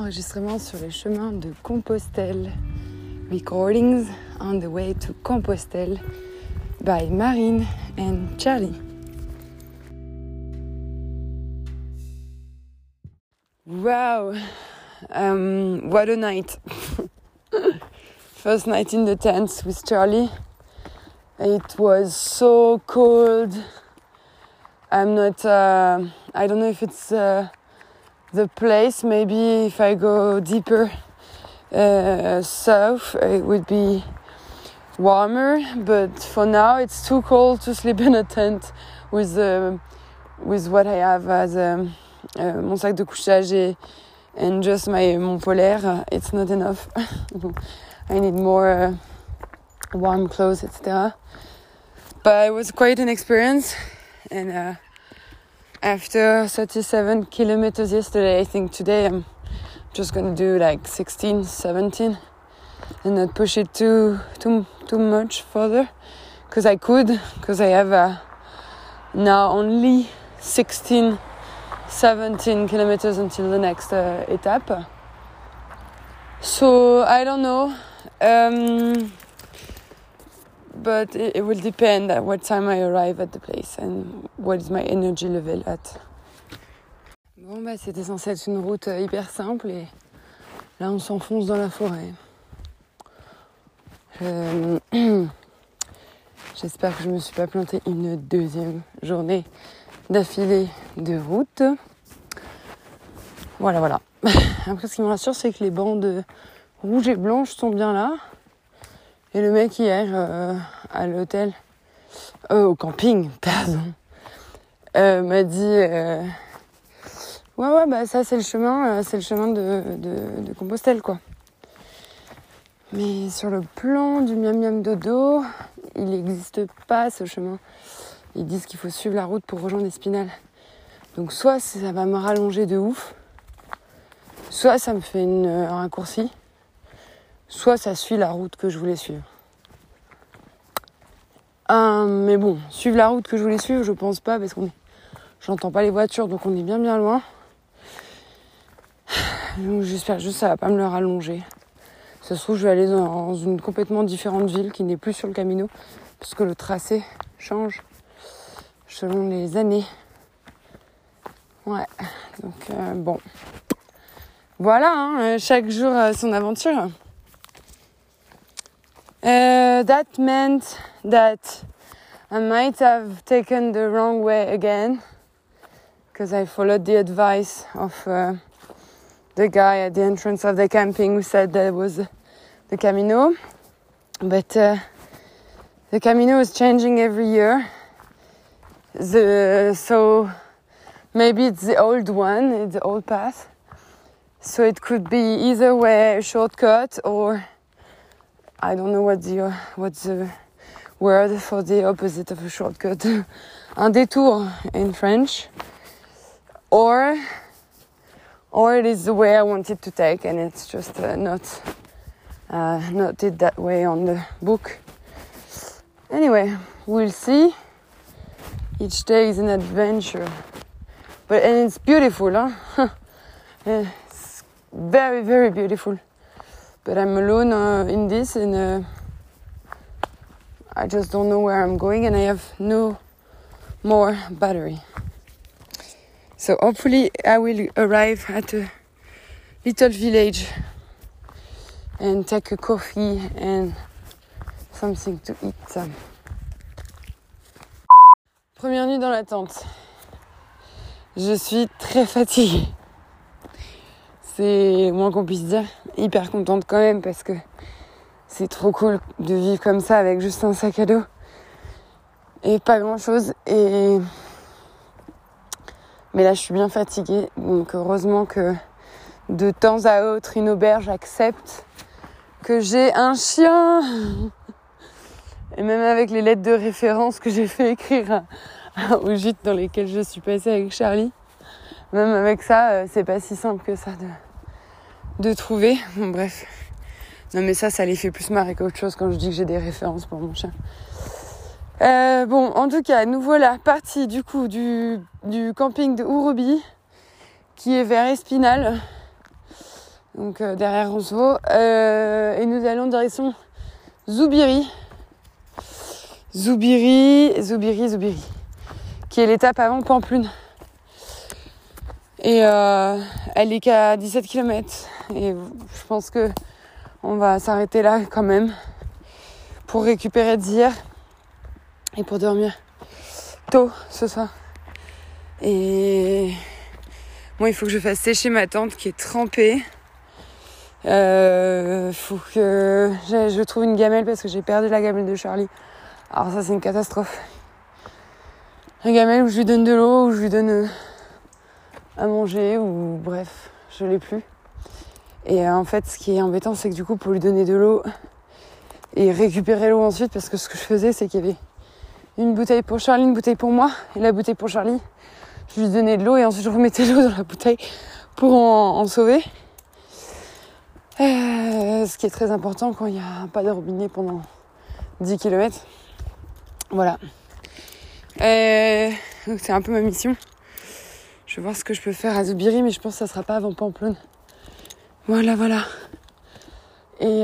enregistrement sur les chemins de Compostelle. Recordings on the way to Compostelle by Marine and Charlie. Wow, what a night. First night in the tent with Charlie. It was so cold. I don't know if it's the place. Maybe if I go deeper south, it would be warmer. But for now, it's too cold to sleep in a tent with what I have as mon sac de couchage and just mon polaire. It's not enough. I need more warm clothes, etc. But it was quite an experience. And after 37 kilometers yesterday, I think today I'm just gonna do like 16, 17 and not push it too much further because I have now only 16, 17 kilometers until the next etape. So I don't know. But it will depend at what time I arrive at the place and what is my energy level at. Bon, c'était censé être une route hyper simple et là on s'enfonce dans la forêt. J'espère que je me suis pas plantée une deuxième journée d'affilée de route. Voilà. Après, ce qui me rassure, c'est que les bandes rouges et blanches sont bien là. Et le mec hier, à l'hôtel, au camping, pardon, m'a dit ouais, ça c'est le chemin de Compostelle, quoi. Mais sur le plan du miam miam dodo, il n'existe pas ce chemin. Ils disent qu'il faut suivre la route pour rejoindre Espinal. Donc soit ça va me rallonger de ouf, soit ça me fait un raccourci, soit ça suit la route que je voulais suivre. Mais bon, suivre la route que je voulais suivre, je pense pas parce j'entends pas les voitures, donc on est bien loin. Donc j'espère juste que ça va pas me le rallonger. Ça se trouve, je vais aller dans une complètement différente ville qui n'est plus sur le Camino parce que le tracé change selon les années. Ouais, donc bon. Voilà, chaque jour son aventure. That meant that I might have taken the wrong way again because I followed the advice of the guy at the entrance of the camping who said that it was the Camino. But the Camino is changing every year. So maybe it's the old one, it's the old path. So it could be either way a shortcut or I don't know what's the word for the opposite of a shortcut. Un détour in French. Or it is the way I wanted to take and it's just not it that way on the book. Anyway, we'll see. Each day is an adventure. And it's beautiful, huh? It's very, very beautiful. But I'm alone in this and I just don't know where I'm going and I have no more battery. So hopefully I will arrive at a little village and take a coffee and something to eat. Première nuit dans la tente. Je suis très fatiguée. C'est moins qu'on puisse dire. Hyper contente quand même parce que c'est trop cool de vivre comme ça avec juste un sac à dos et pas grand chose. Mais là je suis bien fatiguée, donc heureusement que de temps à autre une auberge accepte que j'ai un chien. Et même avec les lettres de référence que j'ai fait écrire aux gîtes dans lesquels je suis passée avec Charlie, même avec ça c'est pas si simple que ça de trouver. Bon, bref. Non mais ça les fait plus marrer qu'autre chose quand je dis que j'ai des références pour mon chien. Bon, en tout cas, nous voilà partis du coup du camping de Ourobi qui est vers Espinal. donc derrière Roncevaux. Et nous allons direction Zoubiri, qui est l'étape avant Pampelune. Et elle est qu'à 17 km. Et je pense que on va s'arrêter là quand même pour récupérer d'hier et pour dormir tôt ce soir. Et moi, il faut que je fasse sécher ma tente qui est trempée. Faut que je trouve une gamelle parce que j'ai perdu la gamelle de Charlie. Alors ça, c'est une catastrophe. Un gamelle où je lui donne de l'eau, où je lui donne à manger, ou bref, je l'ai plus. Et en fait, ce qui est embêtant, c'est que du coup, pour lui donner de l'eau et récupérer l'eau ensuite, parce que ce que je faisais, c'est qu'il y avait une bouteille pour Charlie, une bouteille pour moi, et la bouteille pour Charlie, je lui donnais de l'eau et ensuite je remettais l'eau dans la bouteille pour en sauver. Ce qui est très important quand il n'y a pas de robinet pendant 10 km. Voilà. Donc c'est un peu ma mission. Je vais voir ce que je peux faire à Zoubiri, mais je pense que ça sera pas avant Pampelune. Voilà. Et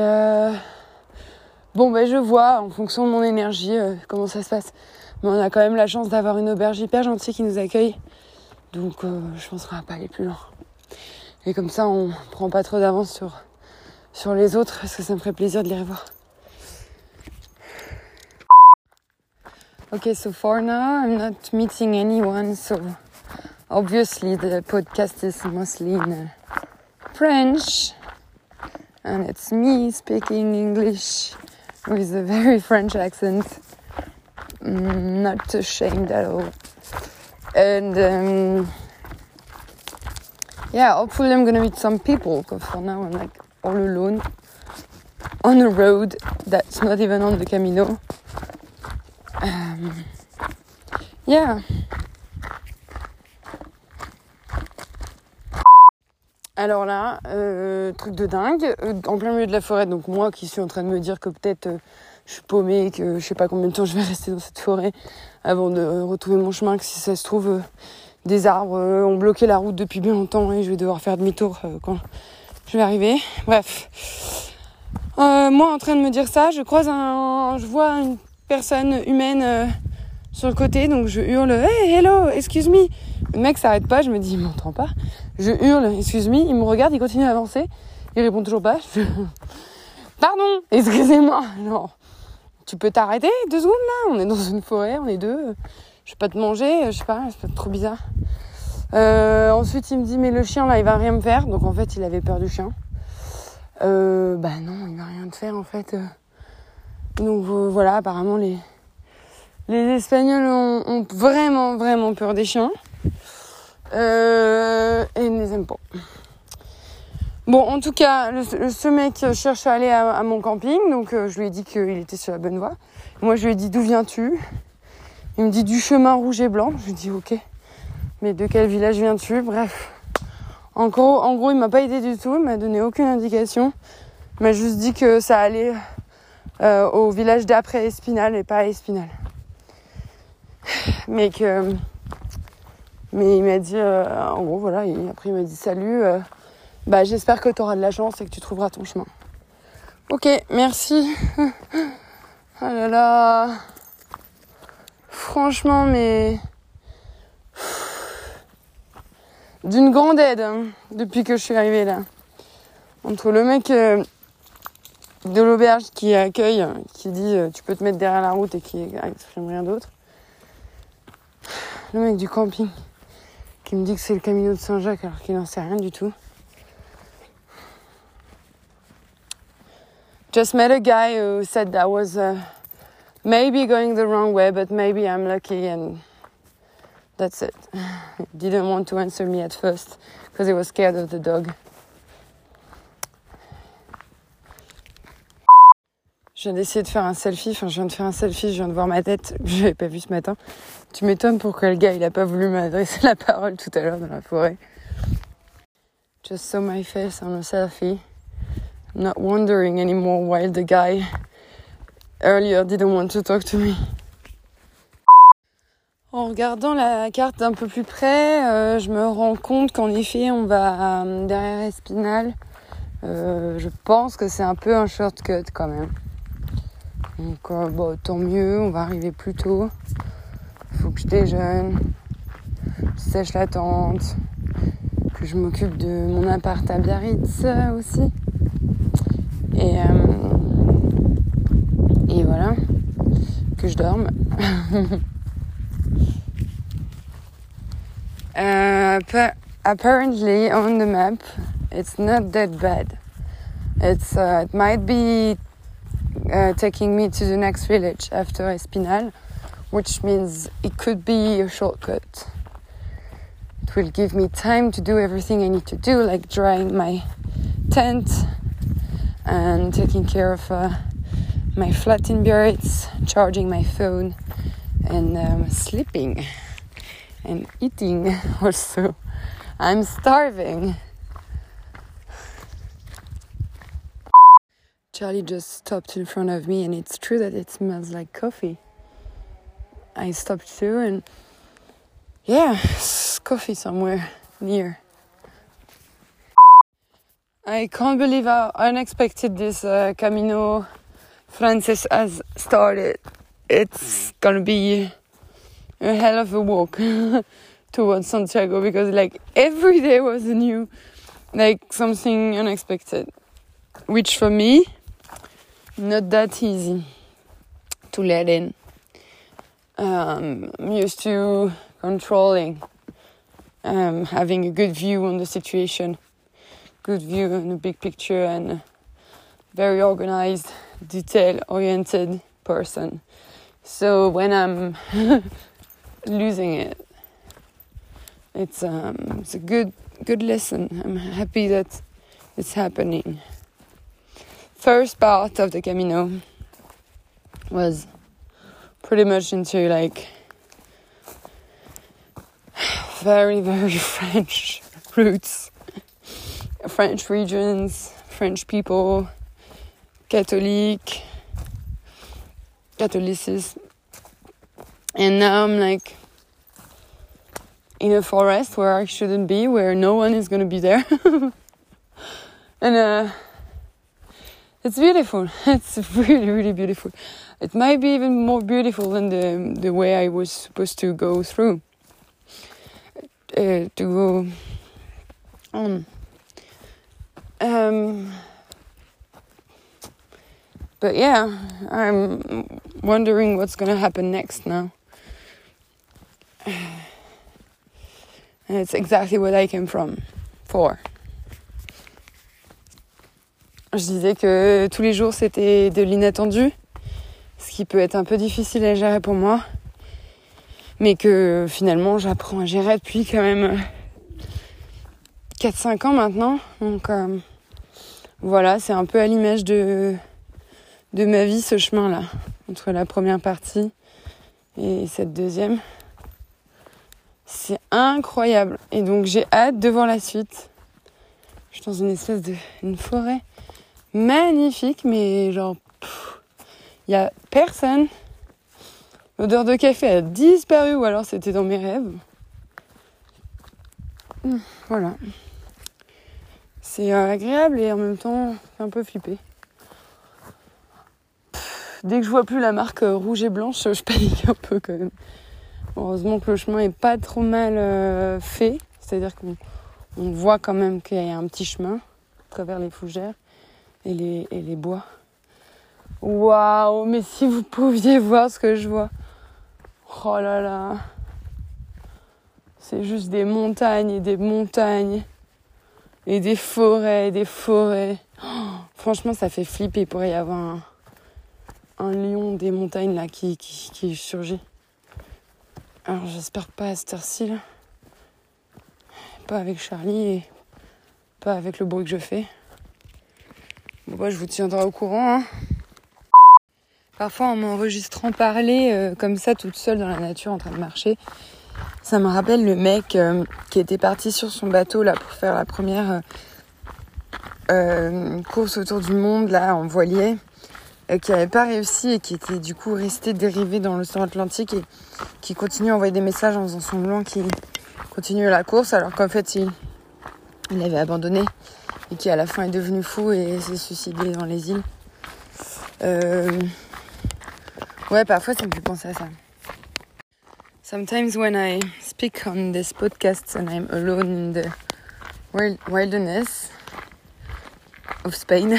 je vois en fonction de mon énergie comment ça se passe. Mais on a quand même la chance d'avoir une auberge hyper gentille qui nous accueille. Donc je pense qu'on va pas aller plus loin. Et comme ça, on prend pas trop d'avance sur les autres, parce que ça me ferait plaisir de les revoir. Okay, so for now, I'm not meeting anyone, so obviously the podcast is mostly in French. And it's me speaking English with a very French accent. Not ashamed at all. And hopefully I'm gonna meet some people, because for now I'm like all alone on a road that's not even on the Camino. Alors là, truc de dingue, en plein milieu de la forêt, donc moi qui suis en train de me dire que peut-être je suis paumée, que je sais pas combien de temps je vais rester dans cette forêt avant de retrouver mon chemin, que si ça se trouve, des arbres ont bloqué la route depuis bien longtemps et je vais devoir faire demi-tour quand je vais arriver. Bref. Moi en train de me dire ça, je vois une personne humaine sur le côté, donc je hurle « Hey, hello, excuse me !» Le mec s'arrête pas, je me dis « Il m'entend pas ?» Je hurle « Excuse me !» Il me regarde, il continue à avancer. Il répond toujours pas. Pardon, excusez-moi. Non, tu peux t'arrêter 2 secondes là? On est dans une forêt, on est 2. Je vais pas te manger, je sais pas, c'est trop bizarre. Ensuite, il me dit « Mais le chien là, il va rien me faire. » Donc en fait, il avait peur du chien. Non, il va rien te faire en fait. Donc voilà, apparemment les Espagnols ont vraiment, vraiment peur des chiens. Et ils ne les aiment pas. Bon, en tout cas, ce mec cherche à aller à mon camping. Donc, je lui ai dit qu'il était sur la bonne voie. Moi, je lui ai dit, d'où viens-tu? Il me dit, du chemin rouge et blanc. Je lui ai dit, ok. Mais de quel village viens-tu? Bref. En gros, il m'a pas aidé du tout. Il m'a donné aucune indication. Il m'a juste dit que ça allait au village d'après Espinal et pas à Espinal. Mais il m'a dit, en gros, voilà, et après il m'a dit salut, j'espère que tu auras de la chance et que tu trouveras ton chemin. Ok, merci. Oh là là. Franchement, mais d'une grande aide hein, depuis que je suis arrivée là. Entre le mec de l'auberge qui accueille, qui dit tu peux te mettre derrière la route et qui exprime rien d'autre. Le mec du camping qui me dit que c'est le Camino de Saint-Jacques alors qu'il n'en sait rien du tout. Just met a guy who said I was maybe going the wrong way, but maybe I'm lucky and that's it. He didn't want to answer me at first because he was scared of the dog. Je viens d'essayer de faire un selfie, je viens de voir ma tête, je l'avais pas vu ce matin. Tu m'étonnes pourquoi le gars il a pas voulu m'adresser la parole tout à l'heure dans la forêt. Just saw my face on a selfie. Not wondering anymore why the guy earlier didn't want to talk to me. En regardant la carte d'un peu plus près, je me rends compte qu'en effet on va derrière Espinal Je pense que c'est un peu un shortcut quand même. Donc tant mieux, on va arriver plus tôt. Faut que je déjeune, je sèche la tente, que je m'occupe de mon appart à Biarritz aussi. Et voilà, que je dorme. Apparently on the map it's not that bad. It might be taking me to the next village after Espinal, which means it could be a shortcut. It will give me time to do everything I need to do, like drying my tent and taking care of my flat in Biarritz, charging my phone, and sleeping and eating also. I'm starving. Charlie just stopped in front of me, and it's true that it smells like coffee. I stopped too, and yeah, it's coffee somewhere near. I can't believe how unexpected this Camino Frances has started. It's gonna be a hell of a walk towards Santiago, because like every day was new, like something unexpected, which for me, not that easy to let in. I'm used to controlling, having a good view on the situation, good view on the big picture, and very organized, detail-oriented person. So when I'm losing it, it's a good lesson. I'm happy that it's happening. First part of the Camino was pretty much into like very, very French roots, French regions, French people, Catholicism. And now I'm like in a forest where I shouldn't be, where no one is going to be there. And it's beautiful. It's really, really beautiful. It might be even more beautiful than the way I was supposed to go through. To go on. But yeah, I'm wondering what's going to happen next now. And it's exactly what I came for. Je disais que tous les jours c'était de l'inattendu, ce qui peut être un peu difficile à gérer pour moi, mais que finalement j'apprends à gérer depuis quand même 4-5 ans maintenant. Donc voilà, c'est un peu à l'image de ma vie, ce chemin-là, entre la première partie et cette deuxième. C'est incroyable. Et donc j'ai hâte de voir la suite. Je suis dans une espèce une forêt magnifique, mais genre il y a personne. L'odeur de café a disparu, ou alors c'était dans mes rêves. Voilà. C'est agréable et en même temps un peu flippé. Dès que je vois plus la marque rouge et blanche, je panique un peu quand même. Heureusement que le chemin est pas trop mal fait. C'est-à-dire qu'on voit quand même qu'il y a un petit chemin à travers les fougères et les bois. Waouh, mais si vous pouviez voir ce que je vois. Oh là là. C'est juste des montagnes et des montagnes. Et des forêts et des forêts. Oh, franchement, ça fait flipper. Il pourrait y avoir un lion des montagnes là qui surgit. Alors j'espère pas à cette heure-ci là. Pas avec Charlie et pas avec le bruit que je fais. Bon bah je vous tiendrai au courant. Hein. Parfois en m'enregistrant parler comme ça toute seule dans la nature en train de marcher, ça me rappelle le mec qui était parti sur son bateau là pour faire la première course autour du monde là en voilier, qui n'avait pas réussi et qui était du coup resté dérivé dans l'océan Atlantique et qui continue à envoyer des messages en faisant semblant qu'il continue la course alors qu'en fait il il avait abandonné et qui à la fin est devenu fou et s'est suicidé dans les îles. Ouais, parfois ça me fait penser à ça. Sometimes when I speak on this podcast and I'm alone in the wilderness of Spain,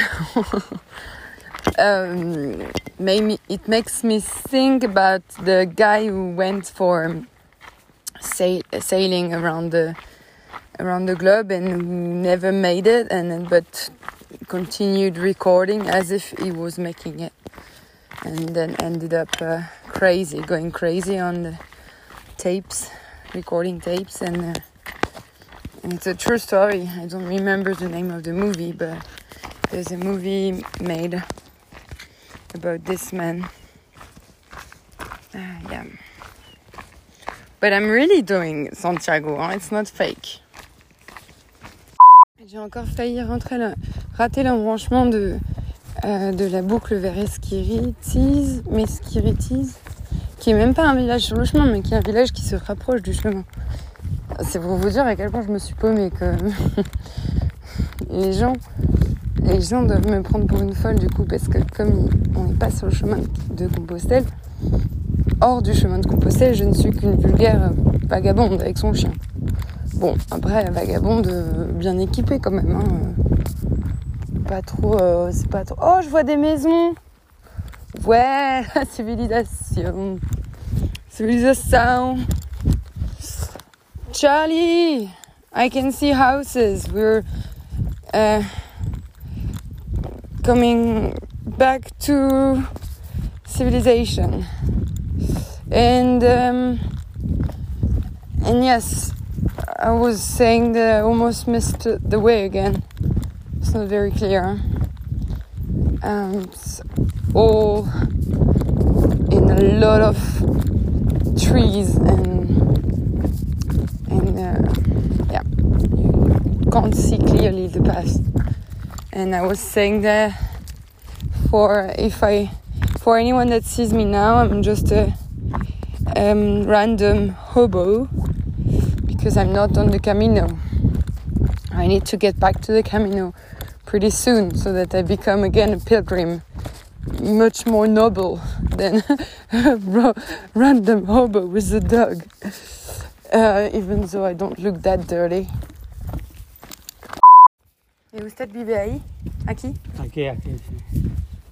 maybe it makes me think about the guy who went for sailing around the globe and who never made it, but continued recording as if he was making it, and then ended up going crazy on the recording tapes, and it's a true story. I don't remember the name of the movie, but there's a movie made about this man. Yeah. But I'm really doing Santiago, hein? It's not fake. J'ai encore failli rater l'embranchement de la boucle vers Espiritis, qui est même pas un village sur le chemin, mais qui est un village qui se rapproche du chemin. C'est pour vous dire à quel point je me suis paumée, que les gens doivent me prendre pour une folle du coup, parce que comme on n'est pas sur le chemin de Compostelle, hors du chemin de Compostelle, je ne suis qu'une vulgaire vagabonde avec son chien. Bon, après, vagabonde bien équipée quand même, hein. C'est pas trop... Oh, je vois des maisons. Ouais, la civilisation. Charlie, I can see houses. We're coming back to civilization. And yes, I was saying that I almost missed the way again. It's not very clear. It's all in a lot of trees and yeah, you can't see clearly the path. And I was saying that for anyone that sees me now, I'm just a random hobo, because I'm not on the Camino. I need to get back to the Camino pretty soon so that I become again a pilgrim, much more noble than a random hobo with a dog, even though I don't look that dirty. ¿Y usted vive ahí? ¿Aquí? Aquí, sí.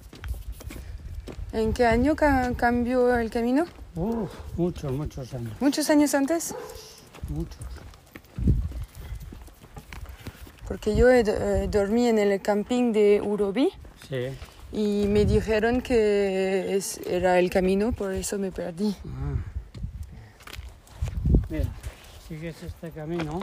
¿En qué año cambió el camino? Muchos años. ¿Muchos años antes? Muchos. Porque yo dormí en el camping de Urobi. Sí. Y me dijeron que era el camino, por eso me perdí. Mira, sigues este camino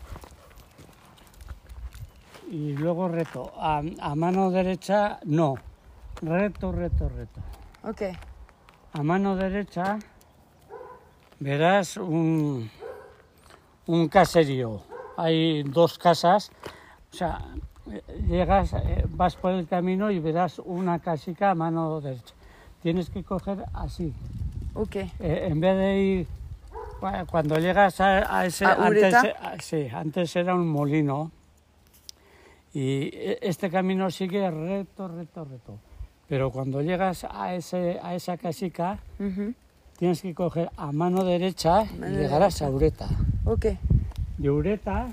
y luego reto. A mano derecha, no. Reto. Ok. A mano derecha verás un caserío. Hay 2 casas. O sea, llegas, vas por el camino y verás una casica a mano derecha. Tienes que coger así. Ok. En vez de ir... Cuando llegas a ese... Antes era un molino. Y este camino sigue recto. Pero cuando llegas a esa casica, tienes que coger a mano derecha y llegarás a Ureta. Ok. De Ureta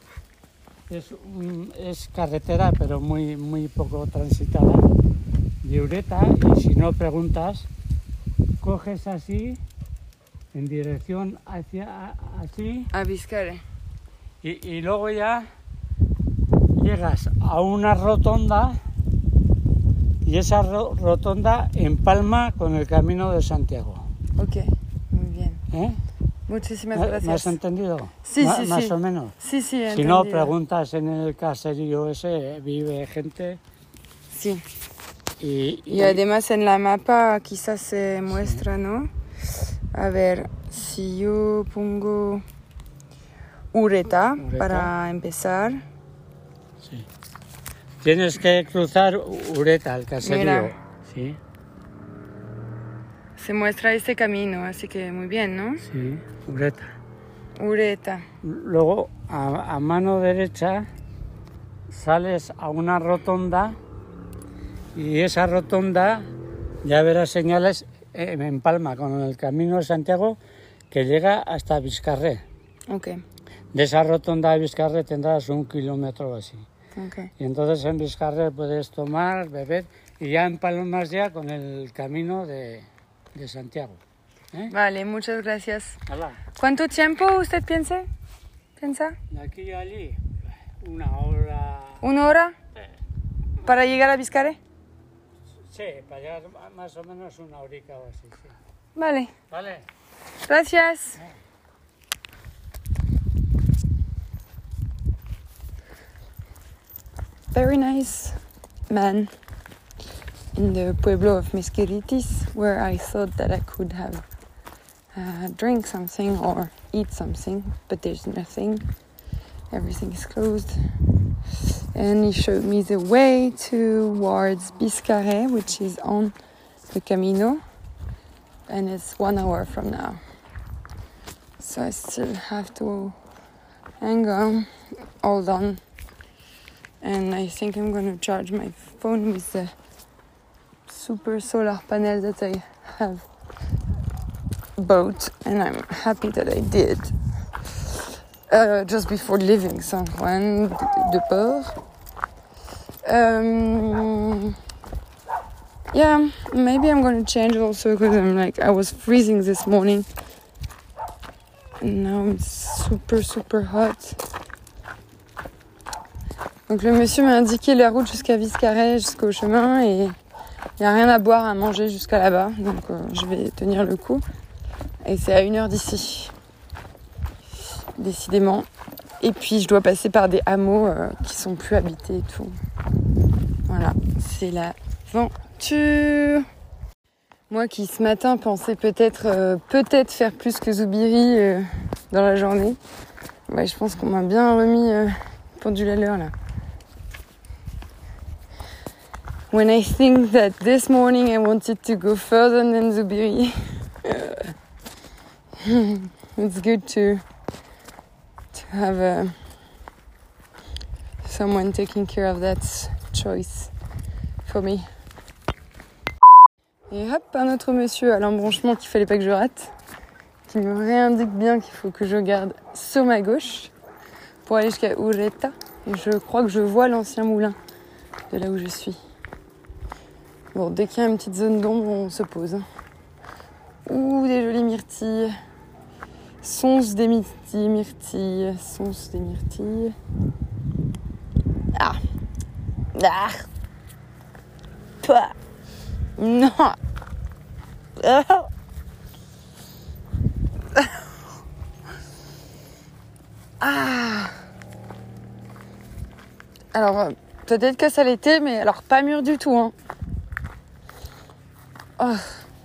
es carretera, pero muy poco transitada. De Ureta, y si no preguntas, coges así, en dirección hacia así. A Vizcaya. Y luego ya llegas a una rotonda, y esa rotonda empalma con el Camino de Santiago. Ok, muy bien. ¿Eh? Muchísimas gracias. ¿Me has entendido? Sí, Más o menos. Sí, he Si no, preguntas en el caserío ese, vive gente. Sí. Y además en la mapa quizás se muestra, ¿no? A ver, si yo pongo Ureta para empezar. Sí. Tienes que cruzar Ureta, el caserío. Mira. Sí. Se muestra este camino, así que muy bien, ¿no? Sí, Ureta. Ureta. Luego, a mano derecha, sales a una rotonda y esa rotonda ya verás señales en Palma con el Camino de Santiago que llega hasta Vizcarré. Okay. De esa rotonda a Vizcarré tendrás 1 kilómetro o así. Okay. Y entonces en Vizcarré puedes tomar, beber y ya empalmas ya con el Camino de Santiago. Vale, muchas gracias. Hola. ¿Cuánto tiempo usted piensa? De aquí a allí, 1 hora. ¿1 hora? ¿Para llegar a Vizcarré? Sí, para llegar más o menos 1 horica o así. Sí. Vale. Vale. Gracias. Very nice man in the pueblo of Mesqueritis, where I thought that I could have drink something or eat something, but there's nothing. Everything is closed. And he showed me the way towards Vizcarré, which is on the Camino, and it's 1 hour from now. So I still have to hang on, hold on. And I think I'm going to charge my phone with the super solar panel that I have bought, and I'm happy that I did. Just before leaving San Juan de Port. Yeah, maybe I'm going to change also because I was freezing this morning. And now it's super hot. Donc le monsieur m'a indiqué la route jusqu'à Vizcarré, jusqu'au chemin, et il n'y a rien à boire, à manger jusqu'à là-bas. Donc je vais tenir le coup. Et c'est à 1 heure d'ici. Décidément. Et puis je dois passer par des hameaux qui sont plus habités et tout. Voilà, c'est l'aventure. Moi qui ce matin pensais peut-être faire plus que Zoubiri dans la journée, ouais, je pense qu'on m'a bien remis pendule à l'heure là. When I think that this morning I wanted to go further than Zoubiri, it's good to have someone taking care of that choice for me. Et hop, un autre monsieur à l'embranchement qu'il fallait pas que je rate, qui me réindique bien qu'il faut que je garde sur ma gauche pour aller jusqu'à Ureta. Et je crois que je vois l'ancien moulin de là où je suis. Bon, dès qu'il y a une petite zone d'ombre, on se pose. Ouh, des jolies myrtilles. Sonce des myrtilles. Sonce des myrtilles. Ah. Ah. Pouah. Non. Ah. Ah. Alors, peut-être que ça l'était, mais alors pas mûr du tout, hein. Oh.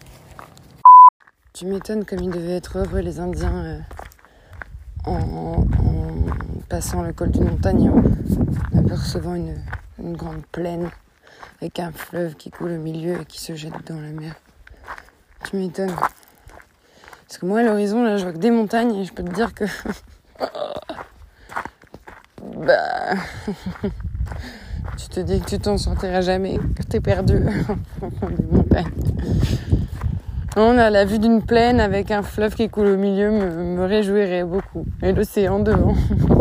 Tu m'étonnes comme ils devaient être heureux les Indiens en passant le col d'une montagne, en apercevant une grande plaine avec un fleuve qui coule au milieu et qui se jette dans la mer. Tu m'étonnes. Parce que moi à l'horizon là je vois que des montagnes et je peux te dire que bah tu te dis que tu t'en sortiras jamais, que t'es perdu au fond des montagnes. Non, à la vue d'une plaine avec un fleuve qui coule au milieu me réjouirait beaucoup. Et l'océan devant.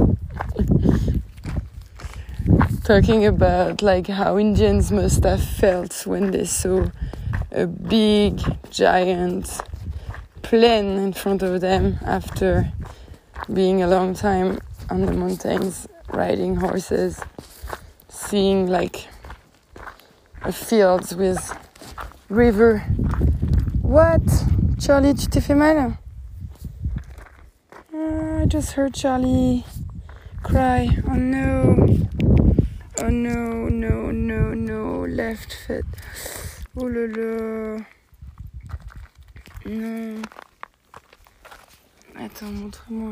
Talking about like how Indians must have felt when they saw a big, giant plane in front of them after being a long time on the mountains, riding horses, seeing like a field with river. What? Charlie, tu t'es fait mal? I just heard Charlie cry. Oh no. Oh no, no, no, no. Left foot. Oh là là. Non. Attends, montre-moi.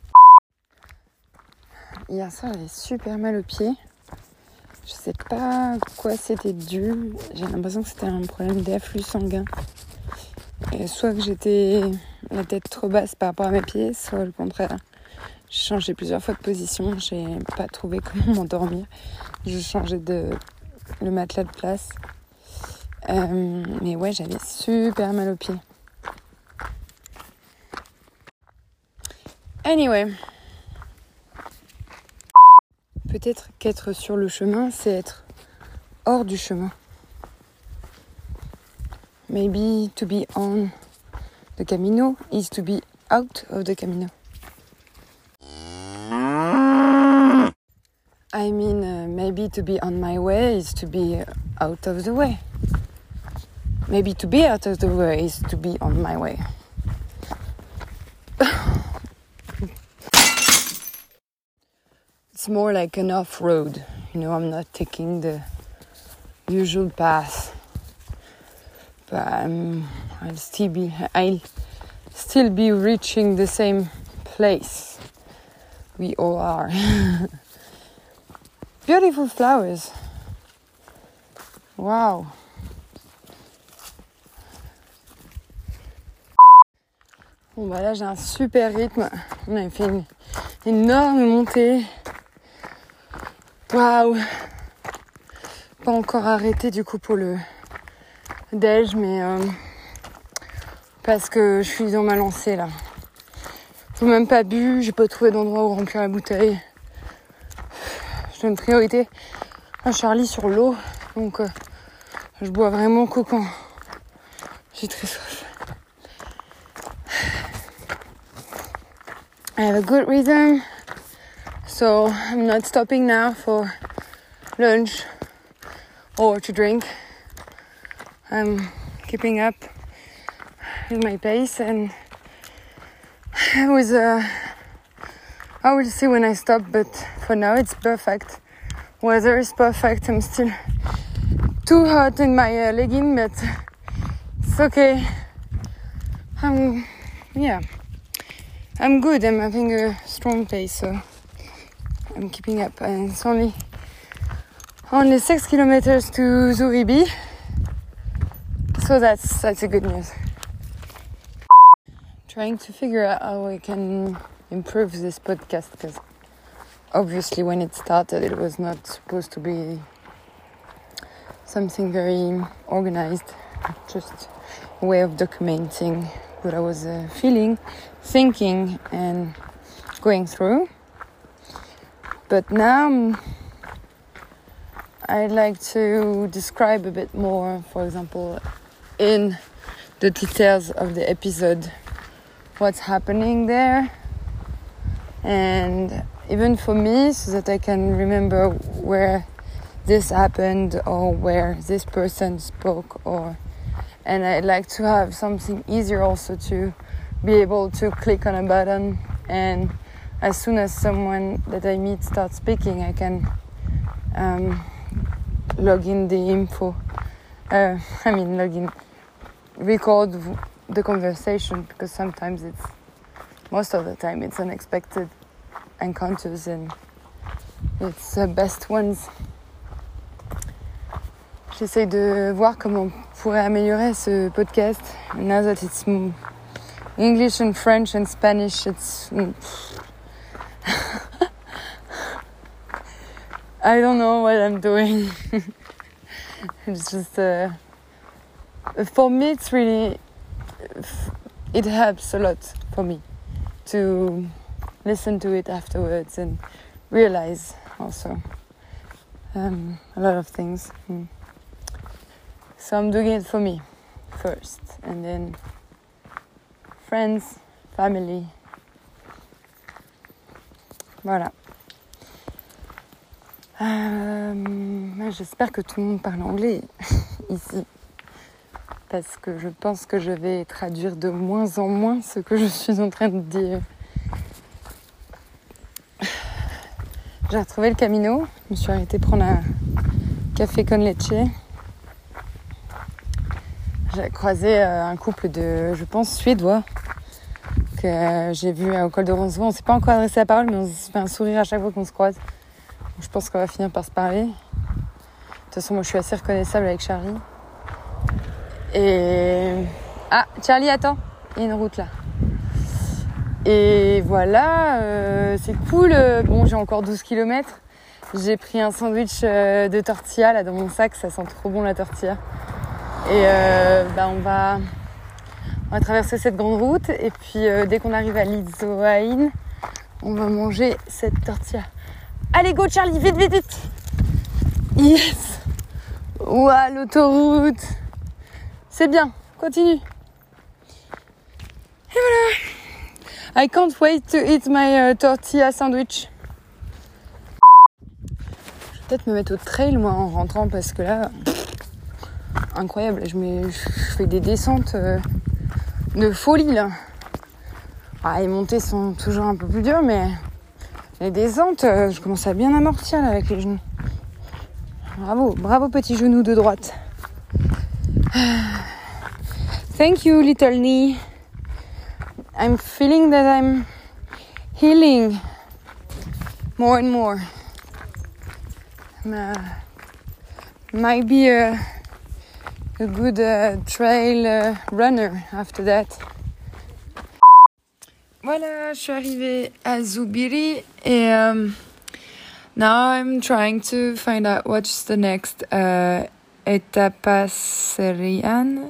Hier soir, j'avais super mal aux pieds. Je sais pas à quoi c'était dû. J'ai l'impression que c'était un problème d'afflux sanguin. Et soit que j'étais la tête trop basse par rapport à mes pieds, soit le contraire. J'ai changé plusieurs fois de position, j'ai pas trouvé comment m'endormir. Je changeais le matelas de place. Mais ouais, j'avais super mal aux pieds. Anyway. Peut-être qu'être sur le chemin, c'est être hors du chemin. Maybe to be on the Camino is to be out of the Camino. I mean, maybe to be on my way is to be out of the way. Maybe to be out of the way is to be on my way. It's more like an off-road. You know, I'm not taking the usual path. But I'll still be reaching the same place. We all are. Beautiful flowers. Wow. Bon bah là j'ai un super rythme. On avait fait une énorme montée. Waouh. Pas encore arrêté du coup pour le déj, mais parce que je suis dans ma lancée là. J'ai même pas bu, j'ai pas trouvé d'endroit où remplir la bouteille. Je donne priorité à Charlie sur l'eau, donc je bois vraiment qu'au quand j'ai très soif. I have a good rhythm, so I'm not stopping now for lunch or to drink. I'm keeping up with my pace, and I will see when I stop, but for now it's perfect. Weather is perfect. I'm still too hot in my legging, but it's okay. I'm good. I'm having a strong pace, so I'm keeping up. And it's only 6 kilometers to Zuribi, so that's a good news. Trying to figure out how I can improve this podcast, because obviously when it started it was not supposed to be something very organized, just a way of documenting what I was feeling, thinking and going through. But now I'd like to describe a bit more, for example, in the details of the episode, what's happening there, and even for me, so that I can remember where this happened or where this person spoke, and I'd like to have something easier also to be able to click on a button, and as soon as someone that I meet starts speaking, I can log in the info. Record the conversation, because most of the time it's unexpected encounters and it's the best ones. J'essaie de voir comment on pourrait améliorer ce podcast. Now that it's English and French and Spanish, it's I don't know what I'm doing. It's just for me it's really, it helps a lot for me to listen to it afterwards and realize also a lot of things. So I'm doing it for me first, and then friends, family. Voilà. J'espère que tout le monde parle anglais ici, parce que je pense que je vais traduire de moins en moins ce que je suis en train de dire. J'ai retrouvé le Camino, je me suis arrêtée prendre un café con leche. J'ai croisé un couple de, je pense, Suédois, que j'ai vu au col de Roncevaux. On ne s'est pas encore adressé la parole, mais on se fait un sourire à chaque fois qu'on se croise. Je pense qu'on va finir par se parler. De toute façon, moi, je suis assez reconnaissable avec Charlie. Et... Ah, Charlie, attends, il y a une route là. Et voilà, c'est cool. Bon, j'ai encore 12 km. J'ai pris un sandwich de tortilla là dans mon sac, ça sent trop bon la tortilla. Et on va traverser cette grande route et puis dès qu'on arrive à Lizoain, on va manger cette tortilla. Allez go Charlie, vite, vite, vite. Yes. Ouah, l'autoroute. C'est bien, continue. Et voilà. I can't wait to eat my tortilla sandwich. Je vais peut-être me mettre au trail moi en rentrant parce que là, incroyable, je fais des descentes de folie là. Ah, les montées sont toujours un peu plus dures, mais les descentes, je commence à bien amortir là avec les genoux. Bravo petit genou de droite. Thank you little knee. I'm feeling that I'm healing more and more. Might be a good trail runner after that. Voilà, je suis arrivée à Zubiri et now I'm trying to find out what's the next etapa Serran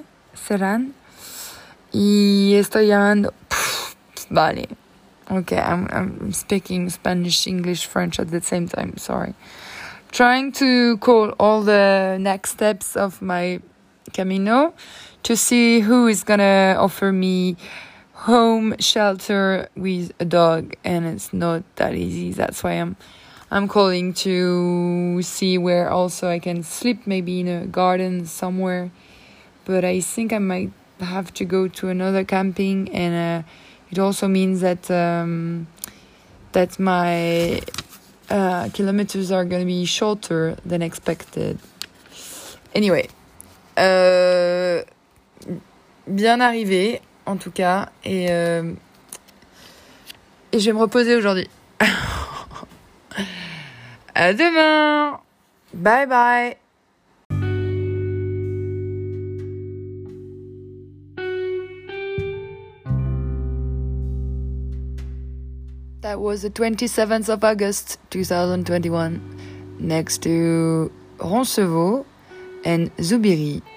y estoy llamando. Vale. Okay, I'm speaking Spanish, English, French at the same time. Sorry. Trying to call all the next steps of my Camino to see who is gonna offer me home shelter with a dog, and it's not that easy. That's why I'm calling to see where also I can sleep, maybe in a garden somewhere. But I think I might have to go to another camping, and it also means that my kilometers are going to be shorter than expected. Anyway, bien arrivé en tout cas, et je vais me reposer aujourd'hui. À demain. Bye bye. That was the 27th of August 2021, next to Roncevaux and Zubiri.